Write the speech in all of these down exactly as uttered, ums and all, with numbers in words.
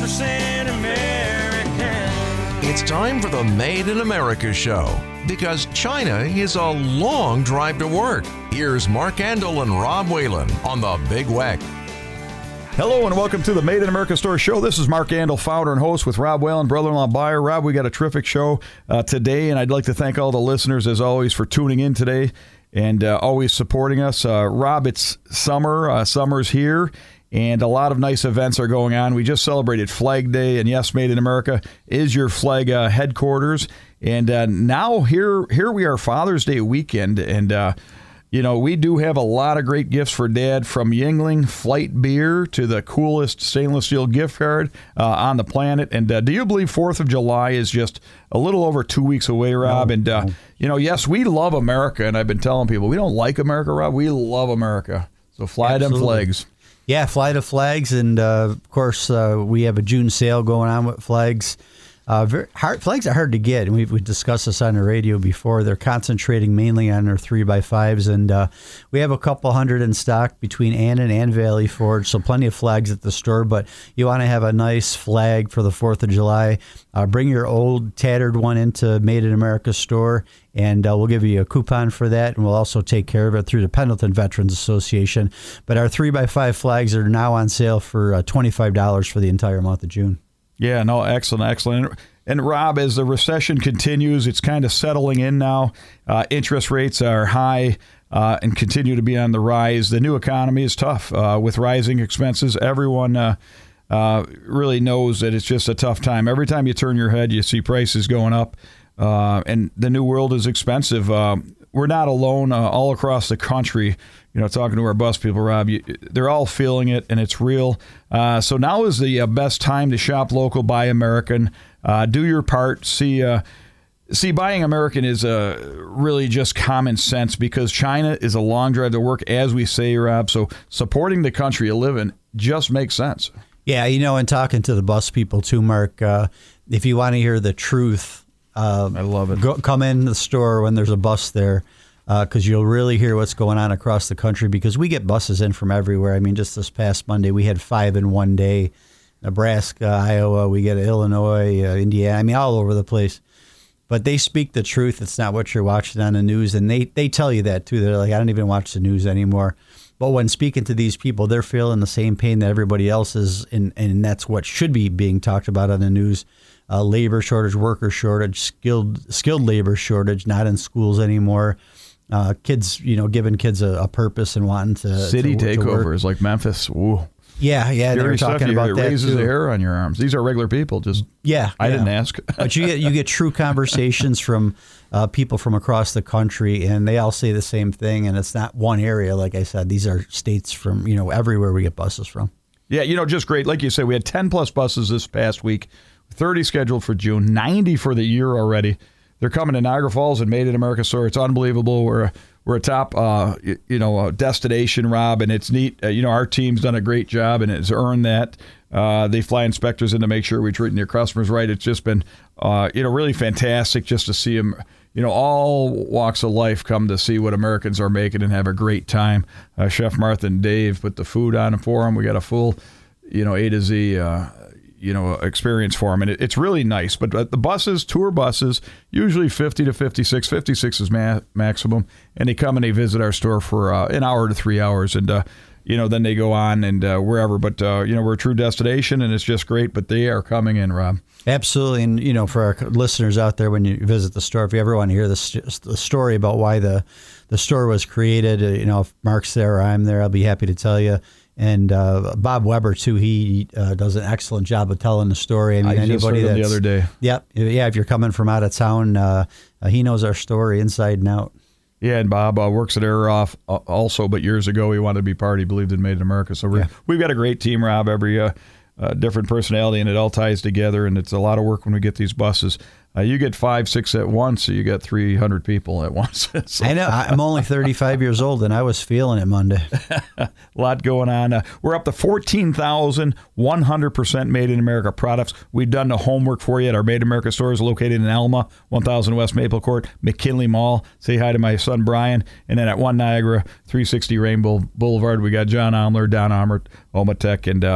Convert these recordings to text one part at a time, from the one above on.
percent American. It's time for the Made in America show, because China is a long drive to work. Here's Mark Andel and Rob Whalen on the Big Weck. Hello and welcome to the Made in America Store Show. This is Mark Andel, founder and host with Rob Whalen, brother-in-law buyer. Rob, we got a terrific show uh, today, and I'd like to thank all the listeners, as always, for tuning in today and uh, always supporting us. Uh, Rob, it's summer. Uh, summer's here, and a lot of nice events are going on. We just celebrated Flag Day, and yes, Made in America is your flag uh, headquarters. And uh, now here, here we are, Father's Day weekend, and uh, you know, we do have a lot of great gifts for Dad, from Yuengling Flight Beer to the coolest stainless steel gift card uh, on the planet. And uh, do you believe fourth of July is just a little over two weeks away, Rob? No, and, uh, no. you know, yes, we love America. And I've been telling people, we don't like America, Rob. We love America. So fly Absolutely. them flags. Yeah, fly to flags. And, uh, of course, uh, we have a June sale going on with flags. Uh, very hard, flags are hard to get, and we've we discussed this on the radio before. They're concentrating mainly on their three by fives, and uh, we have a couple hundred in stock between Annan and Valley Forge, so plenty of flags at the store. But you want to have a nice flag for the fourth of July, uh, bring your old tattered one into Made in America store, and uh, we'll give you a coupon for that, and we'll also take care of it through the Pendleton Veterans Association. But our three by five flags are now on sale for uh, twenty-five dollars for the entire month of June. Yeah, no, excellent, excellent. And Rob, as the recession continues, it's kind of settling in now. Uh, interest rates are high uh, and continue to be on the rise. The new economy is tough uh, with rising expenses. Everyone uh, uh, really knows that it's just a tough time. Every time you turn your head, you see prices going up, uh, and the new world is expensive. Uh, we're not alone uh, all across the country. You know, talking to our bus people, Rob, you, they're all feeling it, and it's real. Uh, so now is the uh, best time to shop local, buy American, uh, do your part. See, uh, see, buying American is uh, really just common sense, because China is a long drive to work, as we say, Rob. So supporting the country you live in just makes sense. Yeah, you know, and talking to the bus people too, Mark, uh, if you want to hear the truth, uh, I love it. Go, come in the store when there's a bus there. Because uh, you'll really hear what's going on across the country, because we get buses in from everywhere. I mean, just this past Monday, we had five in one day. Nebraska, Iowa, we get Illinois, uh, Indiana, I mean, all over the place. But they speak the truth. It's not what you're watching on the news. And they, they tell you that, too. They're like, I don't even watch the news anymore. But when speaking to these people, they're feeling the same pain that everybody else is, and, and that's what should be being talked about on the news. Uh, labor shortage, worker shortage, skilled skilled labor shortage, not in schools anymore. Uh, kids, you know, giving kids a, a purpose and wanting to city to, takeovers to like Memphis. Ooh. Yeah, yeah, they were talking you, about it that raises too. the hair on your arms. These are regular people. Just yeah, I yeah. didn't ask. But you get you get true conversations from uh, people from across the country, and they all say the same thing. And it's not one area, like I said. These are states from, you know, everywhere we get buses from. Yeah, you know, just great. Like you said, we had ten plus buses this past week, thirty scheduled for June, ninety for the year already. They're coming to Niagara Falls and Made in America store. It's unbelievable. We're a, we're a top, uh, you, you know, uh, destination, Rob, and it's neat. Uh, you know, our team's done a great job and has earned that. Uh, they fly inspectors in to make sure we're treating their customers right. It's just been, uh, you know, really fantastic just to see them, you know, all walks of life come to see what Americans are making and have a great time. Uh, Chef Martha and Dave put the food on for them. We got a full, you know, A to Z, uh, you know, experience for them. And it, it's really nice. But uh, the buses, tour buses, usually fifty to fifty-six. fifty-six is ma- maximum. And they come and they visit our store for uh, an hour to three hours. And, uh, you know, then they go on and uh, wherever. But, uh, you know, we're a true destination and it's just great. But they are coming in, Rob. Absolutely. And, you know, for our listeners out there, when you visit the store, if you ever want to hear the, the story about why the, the store was created, uh, you know, if Mark's there or I'm there, I'll be happy to tell you. And uh, Bob Weber, too, he uh, does an excellent job of telling the story. I mean, I just anybody heard him that's, the other day. Yep. Yeah, if you're coming from out of town, uh, uh, he knows our story inside and out. Yeah, and Bob uh, works at Air Off uh, also, but years ago he wanted to be part. He believed in Made in America. So we're, yeah. we've got a great team, Rob, every uh, uh, different personality, and it all ties together, and it's a lot of work when we get these buses. Uh, you get five, six at once, so you get three hundred people at once. So, I know. I'm only thirty-five years old, and I was feeling it Monday. A lot going on. Uh, we're up to fourteen thousand one hundred percent Made in America products. We've done the homework for you at our Made in America stores located in Elma, one thousand West Maple Court, McKinley Mall. Say hi to my son, Brian. And then at One Niagara, three sixty Rainbow Boulevard, we got John Omler, Don Omert, Omatech, and uh,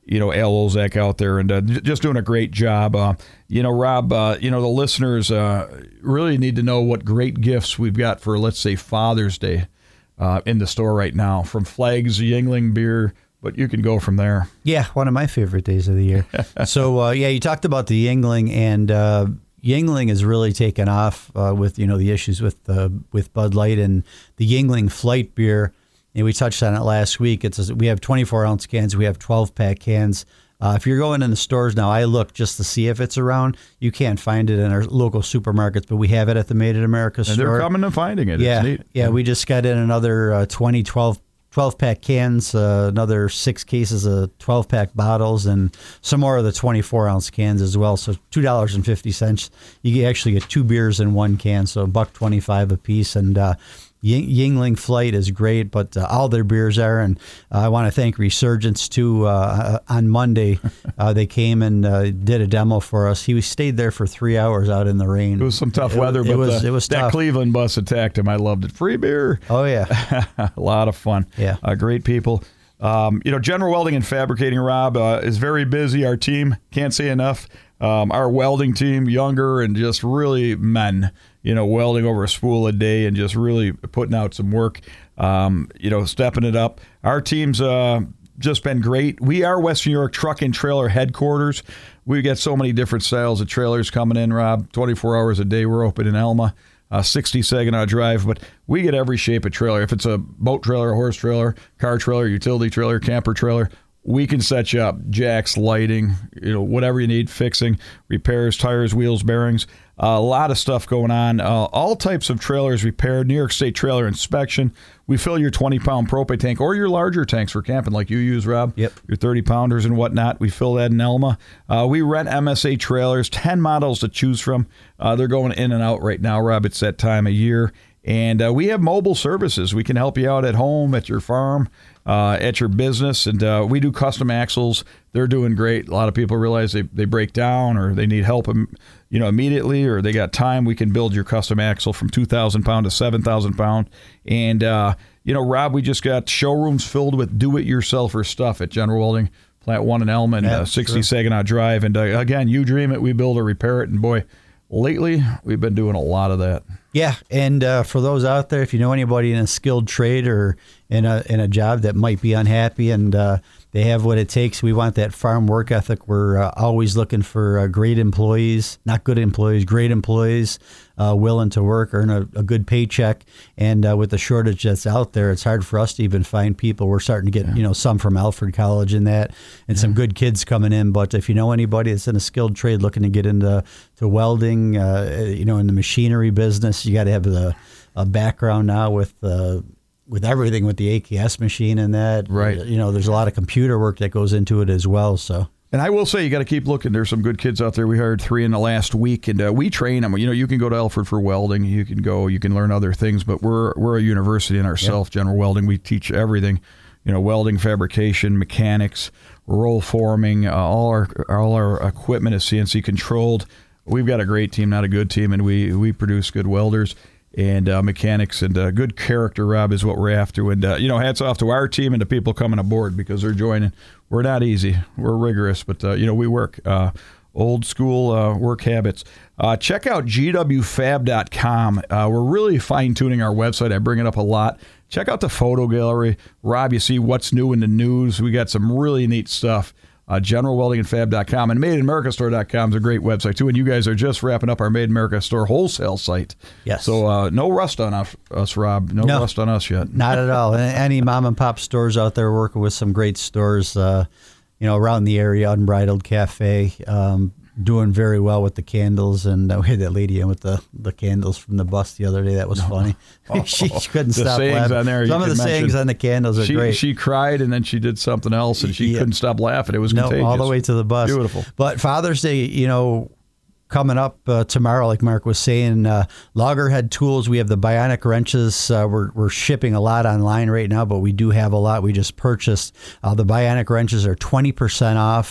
you know, Al Olzak out there and uh, just doing a great job. Uh, you know, Rob, uh, you know, the listeners uh, really need to know what great gifts we've got for, let's say, Father's Day uh, in the store right now, from Flags, Yuengling beer, but you can go from there. Yeah, one of my favorite days of the year. so, uh, yeah, you talked about the Yuengling, and uh, Yuengling has really taken off uh, with, you know, the issues with uh, with Bud Light and the Yuengling Flight beer. And we touched on it last week. It's a, we have twenty-four ounce cans. We have twelve pack cans. Uh, if you're going in the stores now, I look just to see if it's around. You can't find it in our local supermarkets, but we have it at the Made in America store. And they're coming and finding it. Yeah, it's neat. yeah. We just got in another uh, twenty, twelve, twelve pack cans, uh, another six cases of twelve pack bottles, and some more of the twenty-four ounce cans as well. So two dollars and fifty cents. You actually get two beers in one can, so a buck twenty-five a piece. And uh, Yuengling Flight is great, but uh, all their beers are. And uh, I want to thank Resurgence, too. Uh, on Monday, uh, they came and uh, did a demo for us. He stayed there for three hours out in the rain. It was some tough it, weather, it but was, the, it was that tough. Cleveland bus attacked him. I loved it. Free beer. Oh, yeah. A lot of fun. Yeah. Uh, great people. Um, you know, General Welding and Fabricating, Rob, uh, is very busy. Our team, can't say enough. Um, our welding team, younger and just really men, you know, welding over a spool a day and just really putting out some work, um, you know, stepping it up. Our team's uh, just been great. We are Western New York Truck and Trailer headquarters. We get so many different styles of trailers coming in, Rob, twenty-four hours a day. We're open in Elma. Uh, sixty Saginaw Drive, but we get every shape of trailer. If it's a boat trailer, a horse trailer, car trailer, utility trailer, camper trailer, we can set you up. Jacks, lighting, you know, whatever you need, fixing, repairs, tires, wheels, bearings. Uh, a lot of stuff going on. Uh, all types of trailers repaired. New York State Trailer Inspection. We fill your twenty-pound propane tank or your larger tanks for camping like you use, Rob. Yep. Your thirty-pounders and whatnot. We fill that in Elma. Uh, we rent M S A trailers, ten models to choose from. Uh, they're going in and out right now, Rob. It's that time of year. And uh, we have mobile services. We can help you out at home, at your farm, uh, at your business. And uh, we do custom axles. They're doing great. A lot of people realize they, they break down or they need help you know, immediately, or they got time. We can build your custom axle from two thousand pound to seven thousand pound. And, uh, you know, Rob, we just got showrooms filled with do-it-yourselfer stuff at General Welding, Plant one in Elma and yeah, uh, sixty sure. Saginaw Drive. And, uh, again, you dream it, we build or repair it. And, boy, lately we've been doing a lot of that. Yeah, and uh, for those out there, if you know anybody in a skilled trade or in a in a job that might be unhappy and uh, they have what it takes, we want that farm work ethic. We're uh, always looking for uh, great employees, not good employees, great employees, uh, willing to work, earn a, a good paycheck. And uh, with the shortage that's out there, it's hard for us to even find people. We're starting to get, yeah. you know, some from Alfred College and that, and yeah. some good kids coming in. But if you know anybody that's in a skilled trade looking to get into to welding, uh, you know, in the machinery business, you got to have the a background now with uh, with everything with the A K S machine and that. Right. You know, there's a lot of computer work that goes into it as well. So. And I will say, you got to keep looking. There's some good kids out there. We hired three in the last week, and uh, we train them. You know, you can go to Alfred for welding. You can go. You can learn other things. But we're we're a university in ourselves. Yep. General Welding. We teach everything. You know, welding, fabrication, mechanics, roll forming. Uh, all our all our equipment is C N C controlled. We've got a great team, not a good team, and we we produce good welders and uh, mechanics, and uh, good character, Rob, is what we're after. And, uh, you know, hats off to our team and to people coming aboard because they're joining. We're not easy. We're rigorous, but, uh, you know, we work. Uh, old school uh, work habits. Uh, check out G W fab dot com. Uh, we're really fine-tuning our website. I bring it up a lot. Check out the photo gallery. Rob, you see what's new in the news. We got some really neat stuff. Uh, General Welding and Fab dot com and Made in America Store dot com is a great website, too. And you guys are just wrapping up our Made in America Store wholesale site. Yes. So uh, no rust on us, us Rob. No, no rust on us yet. Not at all. Any mom and pop stores out there working with some great stores, uh, you know, around the area, Unbridled Cafe, um, doing very well with the candles. And uh, we had that lady in with the, the candles from the bus the other day. That was no. funny. Oh, she, she couldn't the stop sayings laughing. on there, Some of the sayings on the candles are she, great. She cried, and then she did something else, and she yeah. couldn't stop laughing. It was no, contagious. all the way to the bus. Beautiful. But Father's Day, you know, coming up uh, tomorrow, like Mark was saying, uh, Loggerhead Tools, we have the Bionic wrenches. Uh, we're, we're shipping a lot online right now, but we do have a lot we just purchased. Uh, the Bionic wrenches are twenty percent off.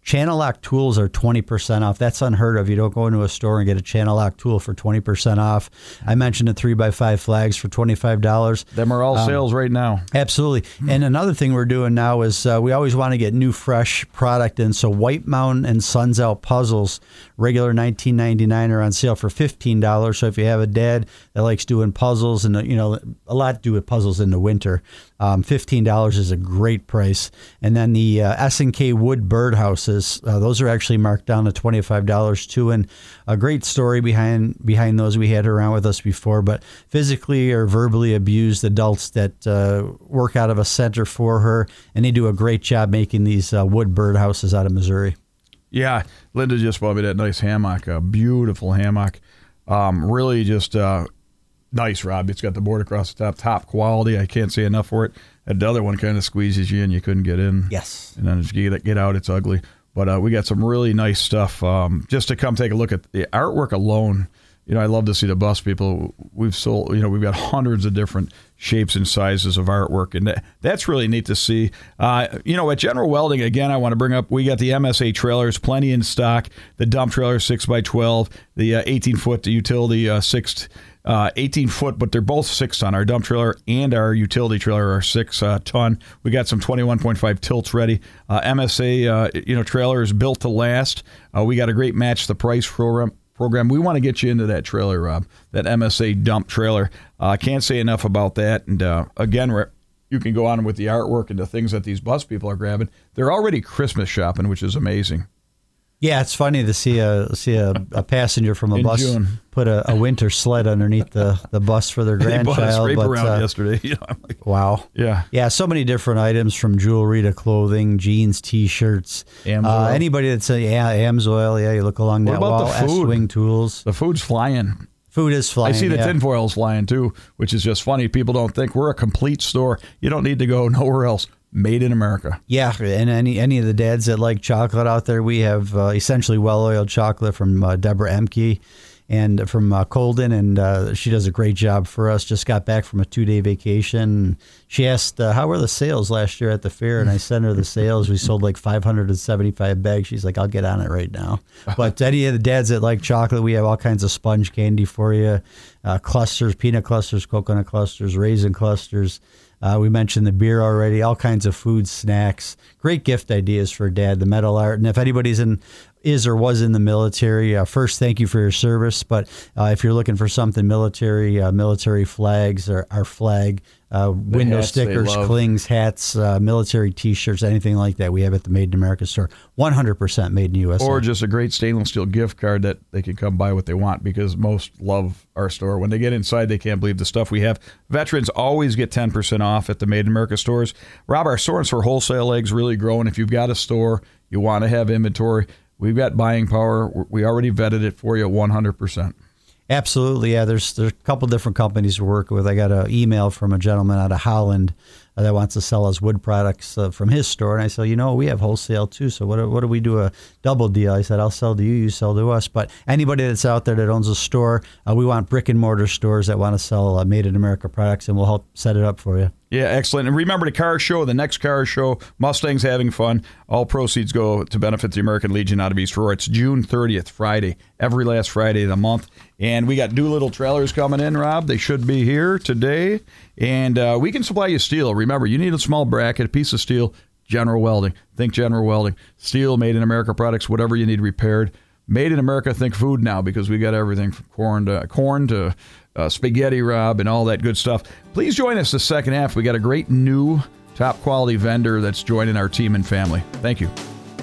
Channel lock tools are twenty percent off. That's unheard of. You don't go into a store and get a channel lock tool for twenty percent off. I mentioned the three by five flags for twenty-five dollars. Them are all um, sales right now. Absolutely. And another thing we're doing now is uh, we always want to get new, fresh product in. So White Mountain and Suns Out puzzles, regular nineteen ninety-nine, are on sale for fifteen dollars. So if you have a dad that likes doing puzzles, and you know a lot to do with puzzles in the winter, um, fifteen dollars is a great price. And then the uh, S and K wood birdhouses, uh, those are actually marked down to twenty-five dollars too. And a great story behind behind those. We had her around with us before, but physically or verbally abused adults that uh, work out of a center for her, and they do a great job making these uh, wood birdhouses out of Missouri. Yeah, Linda just bought me that nice hammock, a beautiful hammock. Um, really just uh, nice, Rob. It's got the board across the top, top quality. I can't say enough for it. And the other one kind of squeezes you in. You couldn't get in. Yes. And then as you get, get out, it's ugly. But uh, we got some really nice stuff. Um, just to come take a look at the artwork alone. You know, I love to see the bus people. We've sold, you know, we've got hundreds of different shapes and sizes of artwork, and that, that's really neat to see. Uh, you know, at General Welding, again, I want to bring up, we got the M S A trailers, plenty in stock. The dump trailer, six by twelve, the uh, eighteen-foot, the utility, uh, six, uh, eighteen-foot, but they're both six-ton. Our dump trailer and our utility trailer are six-ton. Uh, we got some twenty-one point five tilts ready. Uh, M S A, uh, you know, trailer is built to last. Uh, we got a great match the price program. program. We want to get you into that trailer, Rob, that M S A dump trailer. I uh, can't say enough about that. And uh, again, you can go on with the artwork and the things that these bus people are grabbing. They're already Christmas shopping, which is amazing. Yeah, it's funny to see a see a, a passenger from a In bus June. put a, a winter sled underneath the, the bus for their grandchild. They bought a scrape but, around uh, yesterday. You know, I'm like, wow. Yeah. Yeah, so many different items, from jewelry to clothing, jeans, T-shirts. Uh, anybody that's a, yeah, Amsoil, yeah, you look along What that about wall. the food? S-Wing tools. The food's flying. Food is flying. I see the yeah. tinfoil's flying too, which is just funny. People don't think we're a complete store. You don't need to go nowhere else. Made in America. Yeah, and any any of the dads that like chocolate out there, we have uh, essentially well-oiled chocolate from uh, Deborah Emke and from uh, Colden, and uh, she does a great job for us. Just got back from a two-day vacation. She asked, uh, how were the sales last year at the fair? And I sent her the sales. We sold like five hundred seventy-five bags. She's like, I'll get on it right now. But any of the dads that like chocolate, we have all kinds of sponge candy for you, uh, clusters, peanut clusters, coconut clusters, raisin clusters. Uh, we mentioned the beer already, all kinds of food, snacks, great gift ideas for Dad, the metal art. And if anybody's in, is or was in the military, uh, first, thank you for your service. But uh, if you're looking for something military, uh, military flags, or our flag, uh, window stickers, clings, hats, uh, military T-shirts, anything like that, we have at the Made in America store. one hundred percent made in U S A. Or just a great stainless steel gift card that they can come buy what they want, because most love our store. When they get inside, they can't believe the stuff we have. Veterans always get ten percent off at the Made in America stores. Rob, our stores for wholesale eggs really growing. If you've got a store, you want to have inventory, we've got buying power. We already vetted it for you one hundred percent. Absolutely, yeah. There's there's a couple different companies we're working with. I got an email from a gentleman out of Holland uh, that wants to sell us wood products uh, from his store, and I said, you know, we have wholesale too. So what do, what do we do a double deal? I said, I'll sell to you, you sell to us. But anybody that's out there that owns a store, uh, we want brick and mortar stores that want to sell uh, Made in America products, and we'll help set it up for you. Yeah, excellent. And remember the car show, the next car show, Mustang's having fun. All proceeds go to benefit the American Legion out of East Aurora. It's June thirtieth, Friday, every last Friday of the month. And we got Doolittle trailers coming in, Rob. They should be here today. And uh, we can supply you steel. Remember, you need a small bracket, a piece of steel, General Welding. Think General Welding. Steel, Made in America products, whatever you need repaired. Made in America, think food now, because we got everything from corn to corn to uh, spaghetti, Rob, and all that good stuff. Please join us the second half. We got a great new top quality vendor that's joining our team and family. Thank you.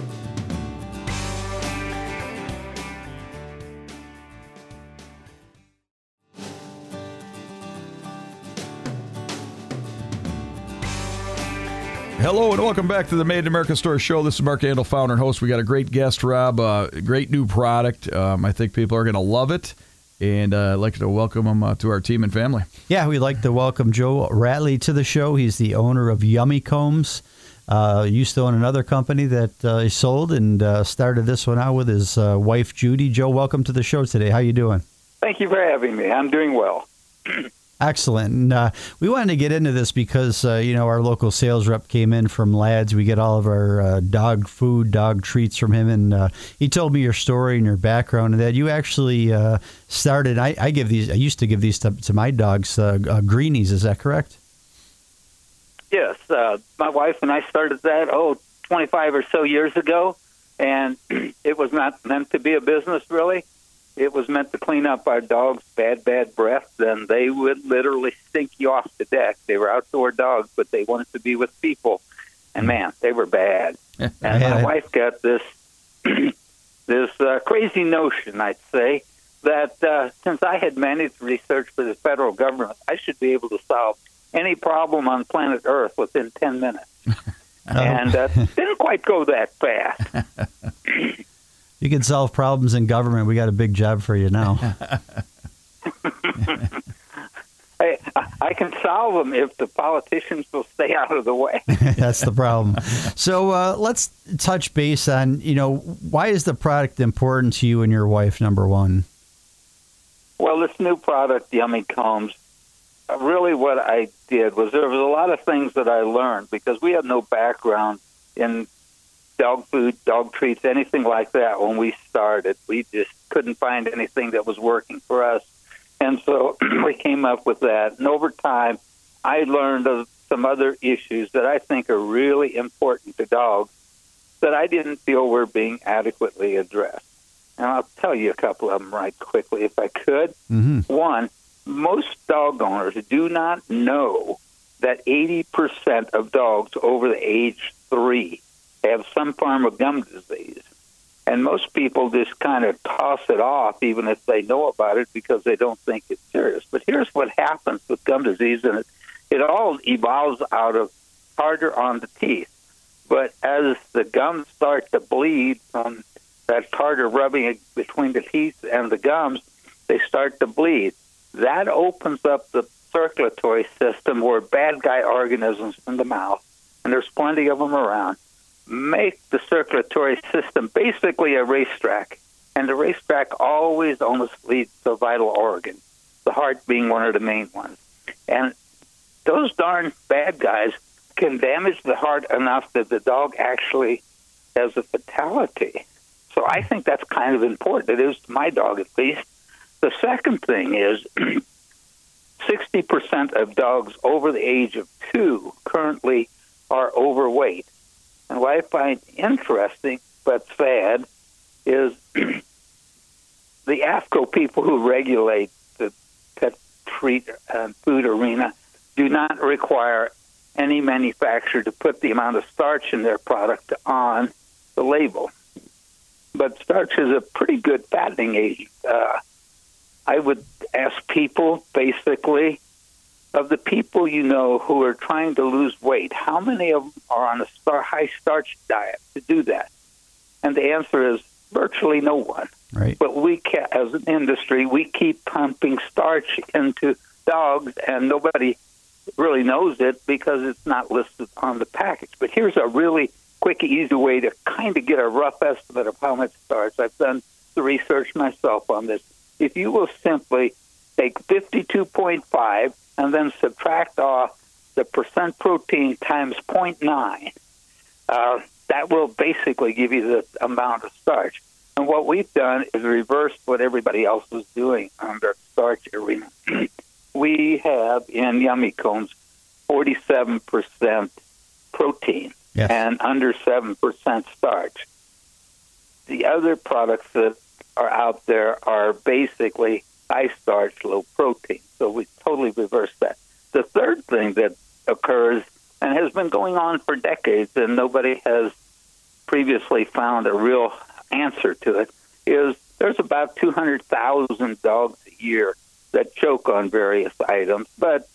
Hello and welcome back to the Made in America Store Show. This is Mark Andel, founder and host. We got a great guest, Rob. Uh, great new product. Um, I think people are going to love it, and uh, I'd like to welcome him uh, to our team and family. Yeah, we'd like to welcome Joe Ratley to the show. He's the owner of Yummy Combs. Uh, used to own another company that uh, he sold, and uh, started this one out with his uh, wife, Judy. Joe, welcome to the show today. How you doing? Thank you for having me. I'm doing well. Excellent. And uh, we wanted to get into this because, uh, you know, our local sales rep came in from Lads. We get all of our uh, dog food, dog treats from him. And uh, he told me your story and your background and that you actually uh, started. I, I give these. I used to give these to, to my dogs, uh, uh, greenies. Is that correct? Yes. Uh, my wife and I started that, oh, twenty-five or so years ago. And it was not meant to be a business, really. It was meant to clean up our dogs' bad, bad breath, and they would literally stink you off the deck. They were outdoor dogs, but they wanted to be with people. And, man, they were bad. And my wife got this this uh, crazy notion, I'd say, that uh, since I had managed research for the federal government, I should be able to solve any problem on planet Earth within ten minutes. Oh. And uh, didn't quite go that fast. You can solve problems in government. We got a big job for you now. I, I can solve them if the politicians will stay out of the way. That's the problem. So uh, let's touch base on, you know, why is the product important to you and your wife, number one? Well, this new product, Yummy Combs, really what I did was there was a lot of things that I learned because we had no background in dog food, dog treats, anything like that when we started. We just couldn't find anything that was working for us. And so we came up with that. And over time, I learned of some other issues that I think are really important to dogs that I didn't feel were being adequately addressed. And I'll tell you a couple of them right quickly if I could. Mm-hmm. One, most dog owners do not know that eighty percent of dogs over the age three have some form of gum disease. And most people just kind of toss it off, even if they know about it, because they don't think it's serious. But here's what happens with gum disease, and it, it all evolves out of tartar on the teeth. But as the gums start to bleed from that tartar rubbing between the teeth and the gums, they start to bleed. That opens up the circulatory system where bad guy organisms in the mouth, and there's plenty of them around, make the circulatory system basically a racetrack. And the racetrack always almost leads to a vital organ, the heart being one of the main ones. And those darn bad guys can damage the heart enough that the dog actually has a fatality. So I think that's kind of important. It is to my dog, at least. The second thing is sixty percent of dogs over the age of two currently are overweight. And what I find interesting but sad is the AAFCO people who regulate the pet treat uh, food arena do not require any manufacturer to put the amount of starch in their product on the label. But starch is a pretty good fattening agent. Uh, I would ask people, basically, of the people you know who are trying to lose weight, how many of them are on a star, high starch diet to do that? And the answer is virtually no one. Right. But we, ca- as an industry, we keep pumping starch into dogs, and nobody really knows it because it's not listed on the package. But here's a really quick, easy way to kind of get a rough estimate of how much starch. I've done the research myself on this. If you will simply take fifty-two point five and then subtract off the percent protein times zero point nine, uh, that will basically give you the amount of starch. And what we've done is reversed what everybody else was doing on their starch arena. We have in Yummy Combs forty-seven percent protein yes. and under seven percent starch. The other products that are out there are basically high starch, low protein. So we totally reversed that. The third thing that occurs and has been going on for decades and nobody has previously found a real answer to it is there's about two hundred thousand dogs a year that choke on various items, but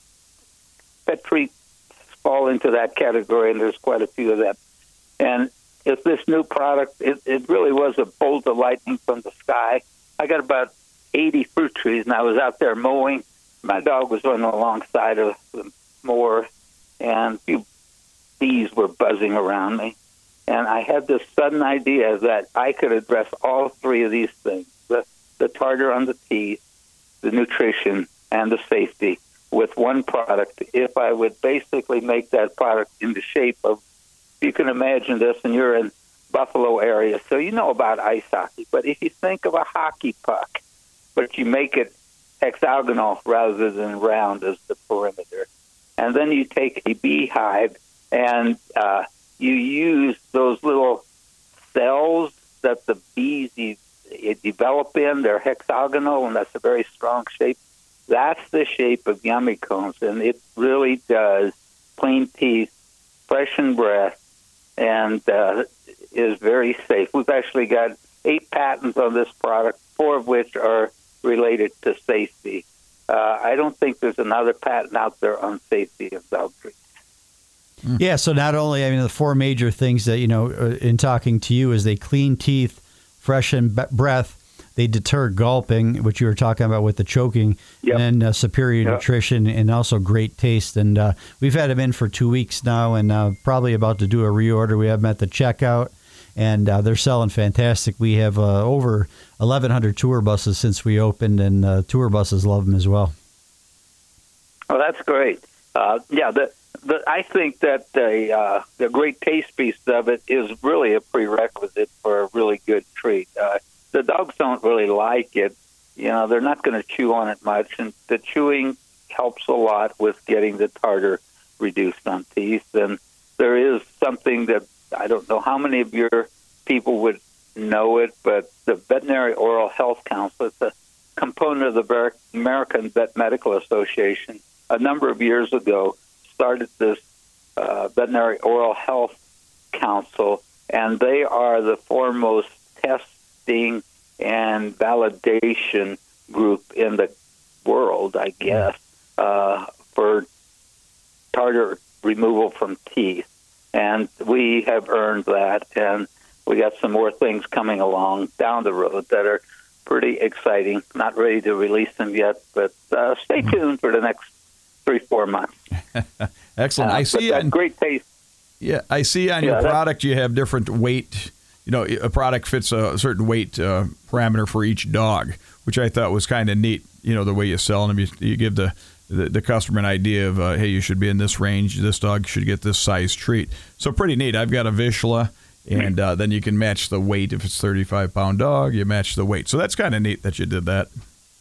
pet treats fall into that category, and there's quite a few of them. And if this new product, it, it really was a bolt of lightning from the sky. I got about eighty fruit trees, and I was out there mowing. My dog was running alongside of the mower, and a few bees were buzzing around me. And I had this sudden idea that I could address all three of these things, the, the tartar on the teeth, the nutrition, and the safety with one product. If I would basically make that product in the shape of, you can imagine this, and you're in Buffalo area, so you know about ice hockey. But if you think of a hockey puck, but you make it hexagonal rather than round as the perimeter, and then you take a beehive and uh, you use those little cells that the bees you, you develop in. They're hexagonal, and that's a very strong shape. That's the shape of Yummy Combs, and it really does clean teeth, freshen breath, and uh, is very safe. We've actually got eight patents on this product, four of which are related to safety. Uh, I don't think there's another patent out there on safety of dog treats. Yeah, so not only, I mean, the four major things that, you know, in talking to you is they clean teeth, freshen b- breath, they deter gulping, which you were talking about with the choking, yep. and uh, superior yep. nutrition, and also great taste. And uh, we've had them in for two weeks now, and uh, probably about to do a reorder. We have them at the checkout, and uh, they're selling fantastic. We have uh, over eleven hundred tour buses since we opened, and uh, tour buses love them as well. Oh, that's great. Uh, yeah, the, the, I think that the, uh, the great taste piece of it is really a prerequisite for a really good treat. Uh, the dogs don't really like it. You know, they're not going to chew on it much, and the chewing helps a lot with getting the tartar reduced on teeth. And there is something that I don't know how many of your people would know it, but the Veterinary Oral Health Council, it's a component of the American Vet Medical Association, a number of years ago started this uh, Veterinary Oral Health Council, and they are the foremost testing and validation group in the world, I guess, uh, for tartar removal from teeth. And we have earned that, and we got some more things coming along down the road that are pretty exciting. Not ready to release them yet, but uh, stay tuned for the next three, four months. Excellent. Uh, I see that on, great taste. Yeah, I see on Yeah, your that- product you have different weight. You know, a product fits a certain weight uh, parameter for each dog, which I thought was kind of neat. You know, the way you sell them, you, you give the, the the customer an idea of, uh, hey, you should be in this range. This dog should get this size treat. So pretty neat. I've got a Vizsla, and uh, then you can match the weight. If it's thirty-five pound dog, you match the weight. So that's kind of neat that you did that.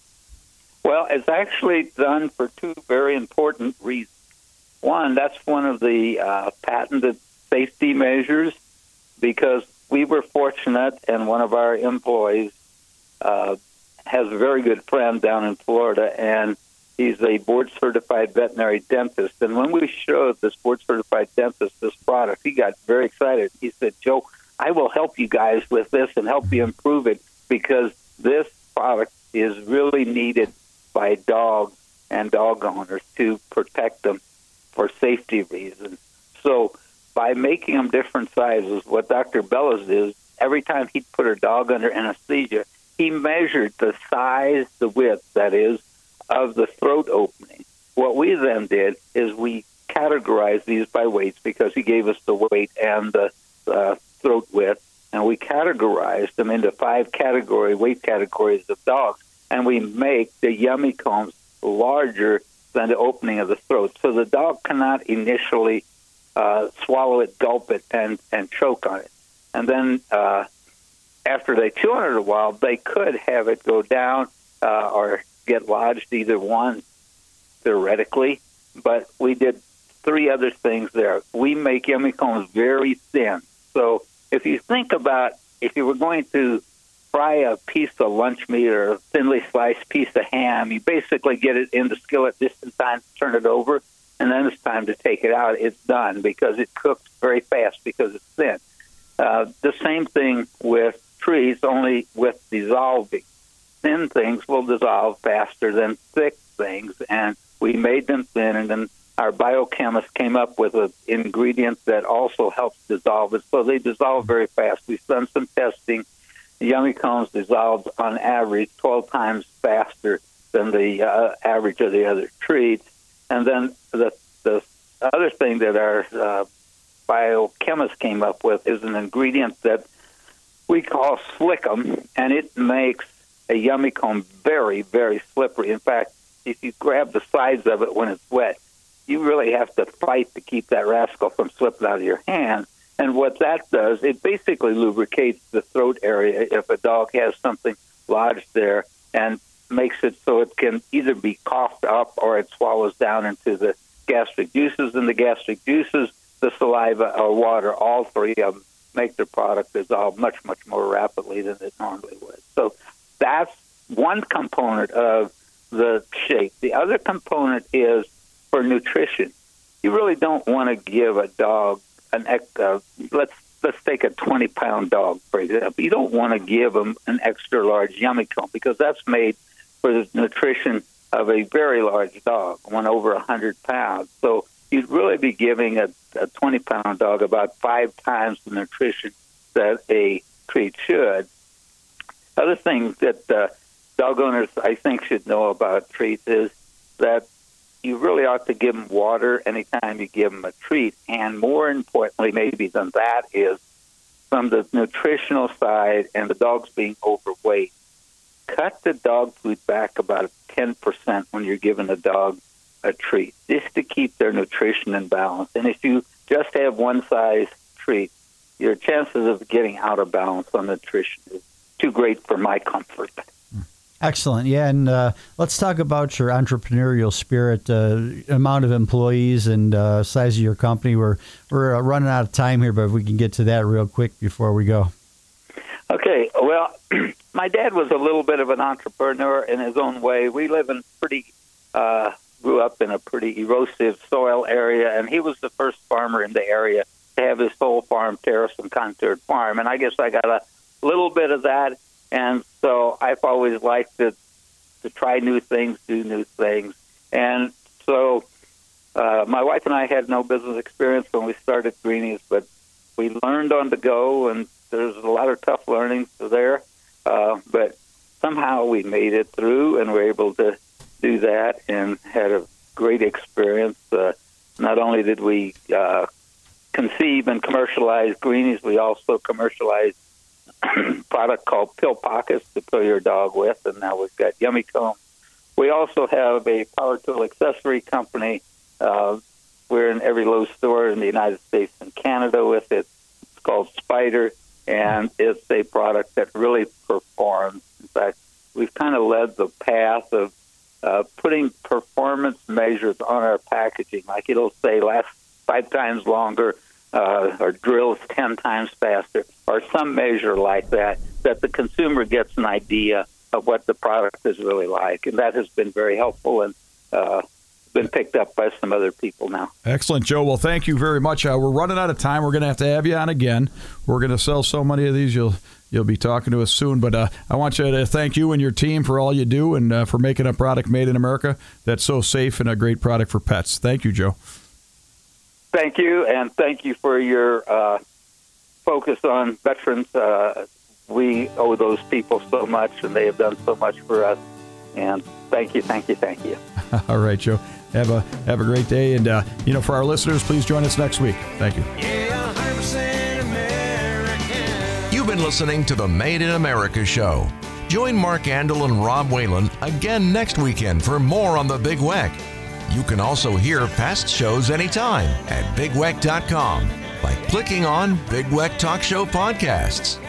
Well, it's actually done for two very important reasons. One, that's one of the uh, patented safety measures, because we were fortunate, and one of our employees uh, has a very good friend down in Florida, and he's a board-certified veterinary dentist. And when we showed this board-certified dentist this product, he got very excited. He said, Joe, I will help you guys with this and help you improve it, because this product is really needed by dogs and dog owners to protect them for safety reasons. So by making them different sizes, what Doctor Bellows did, every time he'd put her dog under anesthesia, he measured the size, the width, that is, of the throat opening. What we then did is we categorized these by weights, because he gave us the weight and the uh, throat width, and we categorized them into five category weight categories of dogs, and we make the Yummy Combs larger than the opening of the throat. So the dog cannot initially uh, swallow it, gulp it, and, and choke on it. And then uh, after they chew on it a while, they could have it go down uh, or get lodged, either one, theoretically. But we did three other things there. We make Yummy Combs very thin. So if you think about, if you were going to fry a piece of lunch meat or a thinly sliced piece of ham, you basically get it in the skillet just in time to turn it over, and then it's time to take it out. It's done, because it cooks very fast because it's thin. Uh, the same thing with treats, only with dissolving. Thin things will dissolve faster than thick things, and we made them thin, and then our biochemist came up with an ingredient that also helps dissolve it, so they dissolve very fast. We've done some testing. The Yummy Combs dissolved on average twelve times faster than the uh, average of the other treats. And then the the other thing that our uh, biochemist came up with is an ingredient that we call Slickum, and it makes a Yummy Comb very, very slippery. In fact, if you grab the sides of it when it's wet, you really have to fight to keep that rascal from slipping out of your hand. And what that does, it basically lubricates the throat area if a dog has something lodged there, and makes it so it can either be coughed up or it swallows down into the gastric juices, and the gastric juices, the saliva or water, all three of them make the product dissolve much, much more rapidly than it normally would. So that's one component of the shake. The other component is for nutrition. You really don't want to give a dog an uh, let's let's take a twenty pound dog, for example. You don't want to give them an extra large Yummy Comb, because that's made for the nutrition of a very large dog, one over one hundred pounds. So you'd really be giving a, a twenty pound dog about five times the nutrition that a treat should. Other thing that uh, dog owners, I think, should know about treats is that you really ought to give them water anytime you give them a treat. And more importantly, maybe than that, is from the nutritional side and the dogs being overweight, cut the dog food back about ten percent when you're giving a dog a treat, just to keep their nutrition in balance. And if you just have one size treat, your chances of getting out of balance on nutrition is too great for my comfort. Excellent. Yeah, and uh, let's talk about your entrepreneurial spirit, uh, amount of employees and uh, size of your company. We're, we're uh, running out of time here, but if we can get to that real quick before we go. Okay, well, my dad was a little bit of an entrepreneur in his own way. We live in pretty, uh, grew up in a pretty erosive soil area, and he was the first farmer in the area to have his whole farm terraced and contoured farm. And I guess I got a little bit of that, and so I've always liked to, to try new things, do new things. And so uh, my wife and I had no business experience when we started Greenies, but we learned on the go, and there's a lot of tough learning there. Uh, but somehow we made it through and were able to do that and had a great experience. Uh, not only did we uh, conceive and commercialize Greenies, we also commercialized a product called Pill Pockets to pill your dog with, and now we've got Yummy Comb. We also have a power tool accessory company. Uh, we're in every Lowe's store in the United States and Canada with it. It's called Spider, and it's a product that really performs. In fact, we've kind of led the path of uh, putting performance measures on our packaging. Like it'll say last five times longer, uh, or drills ten times faster, or some measure like that, that the consumer gets an idea of what the product is really like. And that has been very helpful and uh, been picked up by some other people now. Excellent, Joe. Well, thank you very much. Uh, we're running out of time. We're going to have to have you on again. We're going to sell so many of these, you'll you'll be talking to us soon. But uh, I want you to thank you and your team for all you do and uh, for making a product made in America that's so safe and a great product for pets. Thank you, Joe. Thank you, and thank you for your uh, focus on veterans. Uh, we owe those people so much, and they have done so much for us. And thank you, thank you, thank you. All right, Joe. Have a have a great day. And, uh, you know, for our listeners, please join us next week. Thank you. Yeah, one hundred percent American. You've been listening to the Made in America show. Join Mark Andel and Rob Whalen again next weekend for more on the Big Weck. You can also hear past shows anytime at big weck dot com by clicking on Big Weck Talk Show Podcasts.